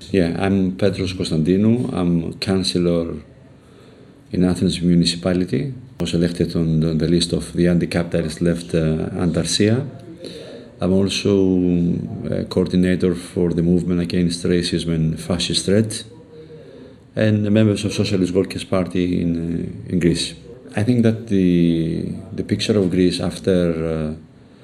Yeah, I'm Petros Konstantinou. I'm councillor in Athens municipality. I was elected on the list of the anti-capitalist left Antarsia. I'm also a coordinator for the movement against racism and fascist threat, and members of Socialist Workers' Party in Greece. I think that the picture of Greece after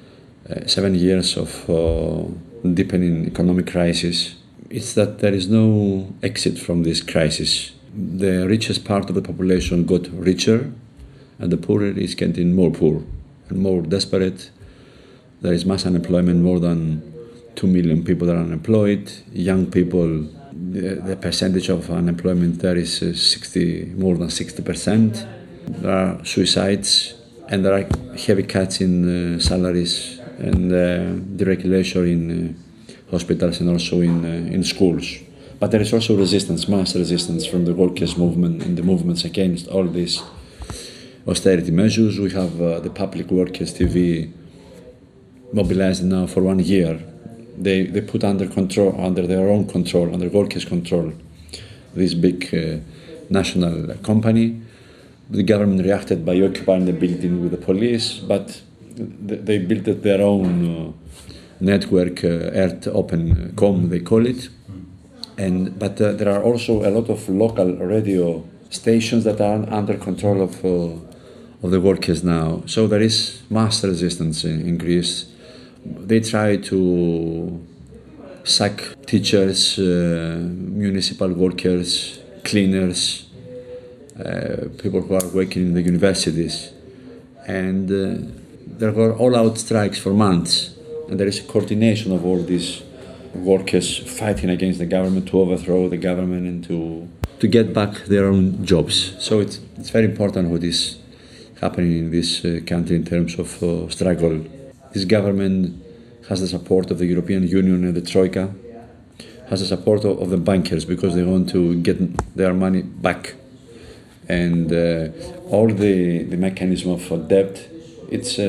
7 years of deepening economic crisis is that there is no exit from this crisis. The richest part of the population got richer, and the poorer is getting more poor and more desperate. There is mass unemployment, more than 2 million people are unemployed. Young people, the percentage of unemployment there is more than 60%. There are suicides, and there are heavy cuts in salaries and deregulation in hospitals and also in schools. But there is also resistance, mass resistance from the workers' movement and the movements against all these austerity measures. We have the Public Workers TV mobilized now for 1 year. They put under their own control, under workers' control, this big national company. The government reacted by occupying the building with the police, but they built their own network, Earth Open Com, they call it. But there are also a lot of local radio stations that are under control of the workers now. So there is mass resistance in Greece. They try to sack teachers, municipal workers, cleaners, people who are working in the universities. And there were all-out strikes for months. And there is a coordination of all these workers fighting against the government to overthrow the government and to get back their own jobs. So it's very important what is happening in this country in terms of struggle. This government has the support of the European Union and the Troika, has the support of the bankers because they want to get their money back. And all the mechanism of debt, it's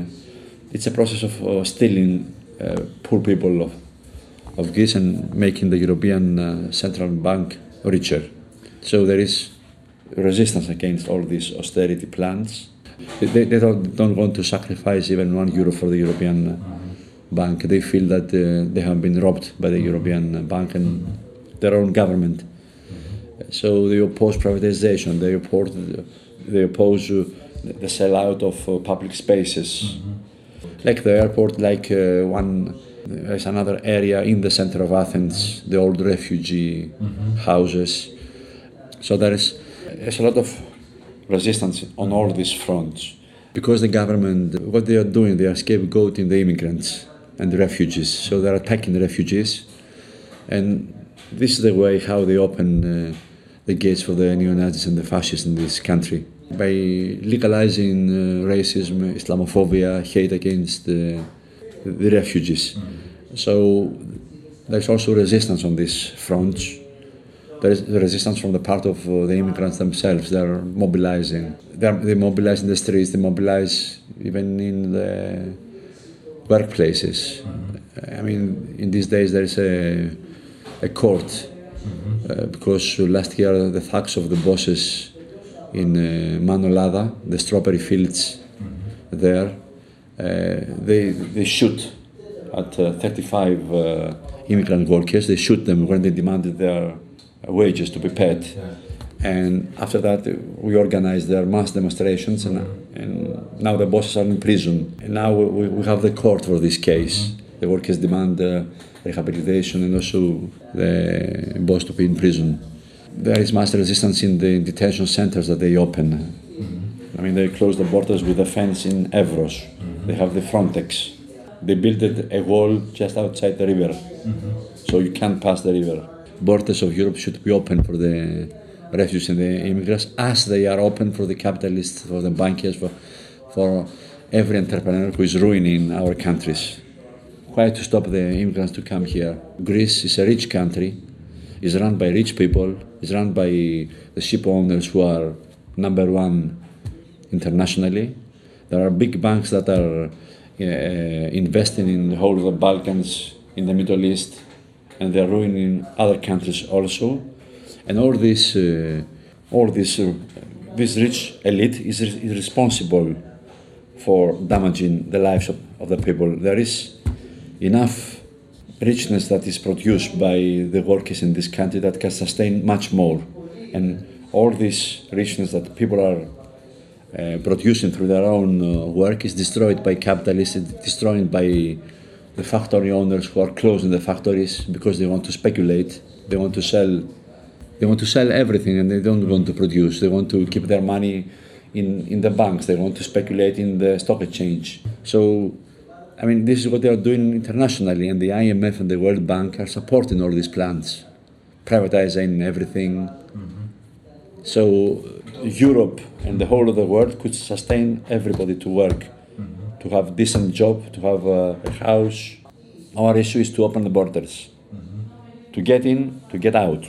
a process of stealing poor people of Greece and making the European Central Bank richer. So there is resistance against all these austerity plans. They don't want to sacrifice even €1 for the European Bank. They feel that they have been robbed by the European Bank and their own government. So they oppose privatization. They oppose the sellout of public spaces. Like the airport, there's another area in the center of Athens, the old refugee houses. So there's a lot of resistance on all these fronts. Because the government, what they are doing, they are scapegoating the immigrants and the refugees. So they're attacking the refugees. And this is the way how they open the gates for the neo-Nazis and the fascists in this country. By legalizing racism, Islamophobia, hate against the refugees. So there's also resistance on these fronts. There is resistance from the part of the immigrants themselves. They're mobilizing. They mobilize in the streets. They mobilize even in the workplaces. I mean, in these days there is a court because last year the thugs of the bosses in Manolada, the strawberry fields there, they shoot at 35 immigrant workers. They shoot them when they demanded their wages to be paid. And after that, we organized their mass demonstrations, and now the bosses are in prison. And now we have the court for this case. The workers demand rehabilitation and also the boss to be in prison. There is mass resistance in the detention centers that they open. I mean, they close the borders with a fence in Evros. They have the Frontex. They built a wall just outside the river, so you can't pass the river. Borders of Europe should be open for the refugees and the immigrants, as they are open for the capitalists, for the bankers, for every entrepreneur who is ruining our countries. Why to stop the immigrants to come here? Greece is a rich country, is run by rich people, is run by the ship owners who are #1 internationally. There are big banks that are investing in the whole of the Balkans, in the Middle East, and they're ruining other countries also. And this rich elite is responsible for damaging the lives of the people. There is enough richness that is produced by the workers in this country that can sustain much more. And all this richness that people are producing through their own work is destroyed by capitalists, destroyed by the factory owners who are closing the factories because they want to speculate, they want to sell everything, and they don't want to produce. They want to keep their money in the banks, they want to speculate in the stock exchange. So, I mean, this is what they are doing internationally, and the IMF and the World Bank are supporting all these plans, privatizing everything. So Europe and the whole of the world could sustain everybody to work, to have a decent job, to have a house. Our issue is to open the borders, to get in, to get out.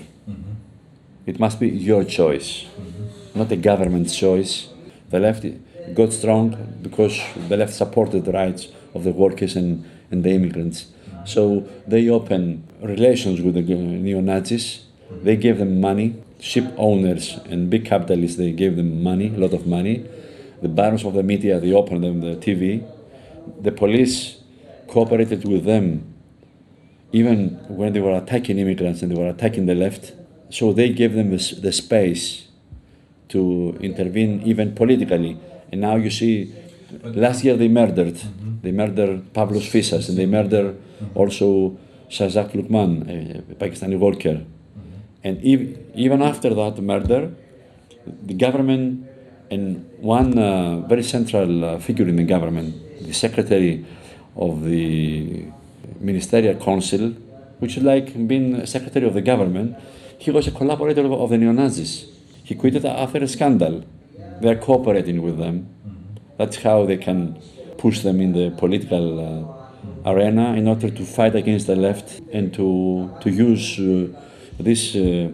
It must be your choice, not a government choice. The left got strong because the left supported the rights of the workers and the immigrants. So they open relations with the neo-Nazis. They gave them money. Ship owners and big capitalists, they gave them money, a lot of money. The barons of the media, they opened them the TV. The police cooperated with them even when they were attacking immigrants and they were attacking the left. So they gave them the space to intervene even politically. And now you see, last year they murdered Pavlos Fyssas, and they murdered also Shazak Lukman, a Pakistani worker. And even after that murder, the government and one very central figure in the government, the secretary of the ministerial council, which is like being secretary of the government, he was a collaborator of the neo-Nazis. He quitted after a scandal. They are cooperating with them. That's how they can push them in the political arena in order to fight against the left and to use this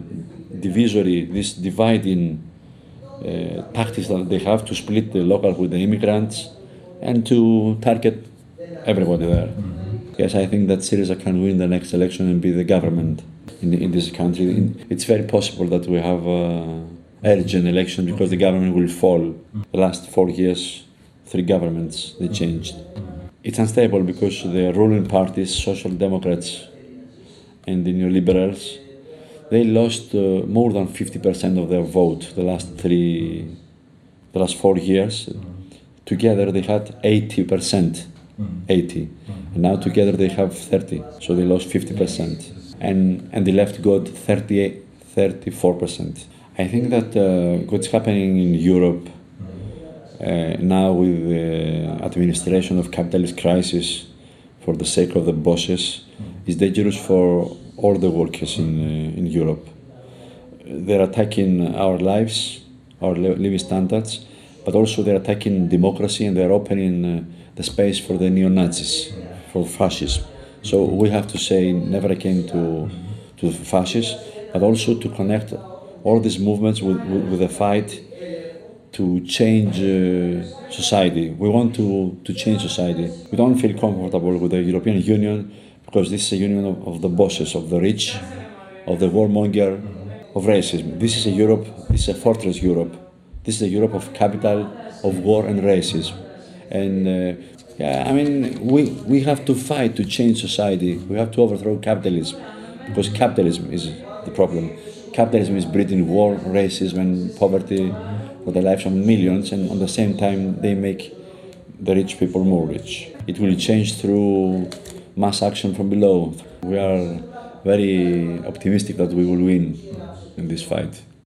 dividing tactics that they have to split the local with the immigrants and to target everybody there. Yes, I think that Syriza can win the next election and be the government in this country. It's very possible that we have urgent election because the government will fall. The last 4 years, 3 governments, they changed. It's unstable because the ruling parties, Social Democrats and the neoliberals, they lost more than 50% of their vote the last 4 years. Together they had 80%, 80. And now together they have 30, so they lost 50%. And the left got 34%. I think that what's happening in Europe now with the administration of capitalist crisis for the sake of the bosses is dangerous for all the workers in Europe. They're attacking our lives, our living standards, but also they're attacking democracy and they're opening the space for the neo-Nazis, for fascism. So we have to say never again to fascists, but also to connect all these movements with the fight to change society. We want to change society. We don't feel comfortable with the European Union because this is a union of the bosses, of the rich, of the warmonger, of racism. This is a Europe, this is a fortress Europe. This is a Europe of capital, of war and racism. And I mean, we have to fight to change society. We have to overthrow capitalism because capitalism is the problem. Capitalism is breeding war, racism and poverty for the lives of millions, and at the same time they make the rich people more rich. It will change through mass action from below. We are very optimistic that we will win in this fight.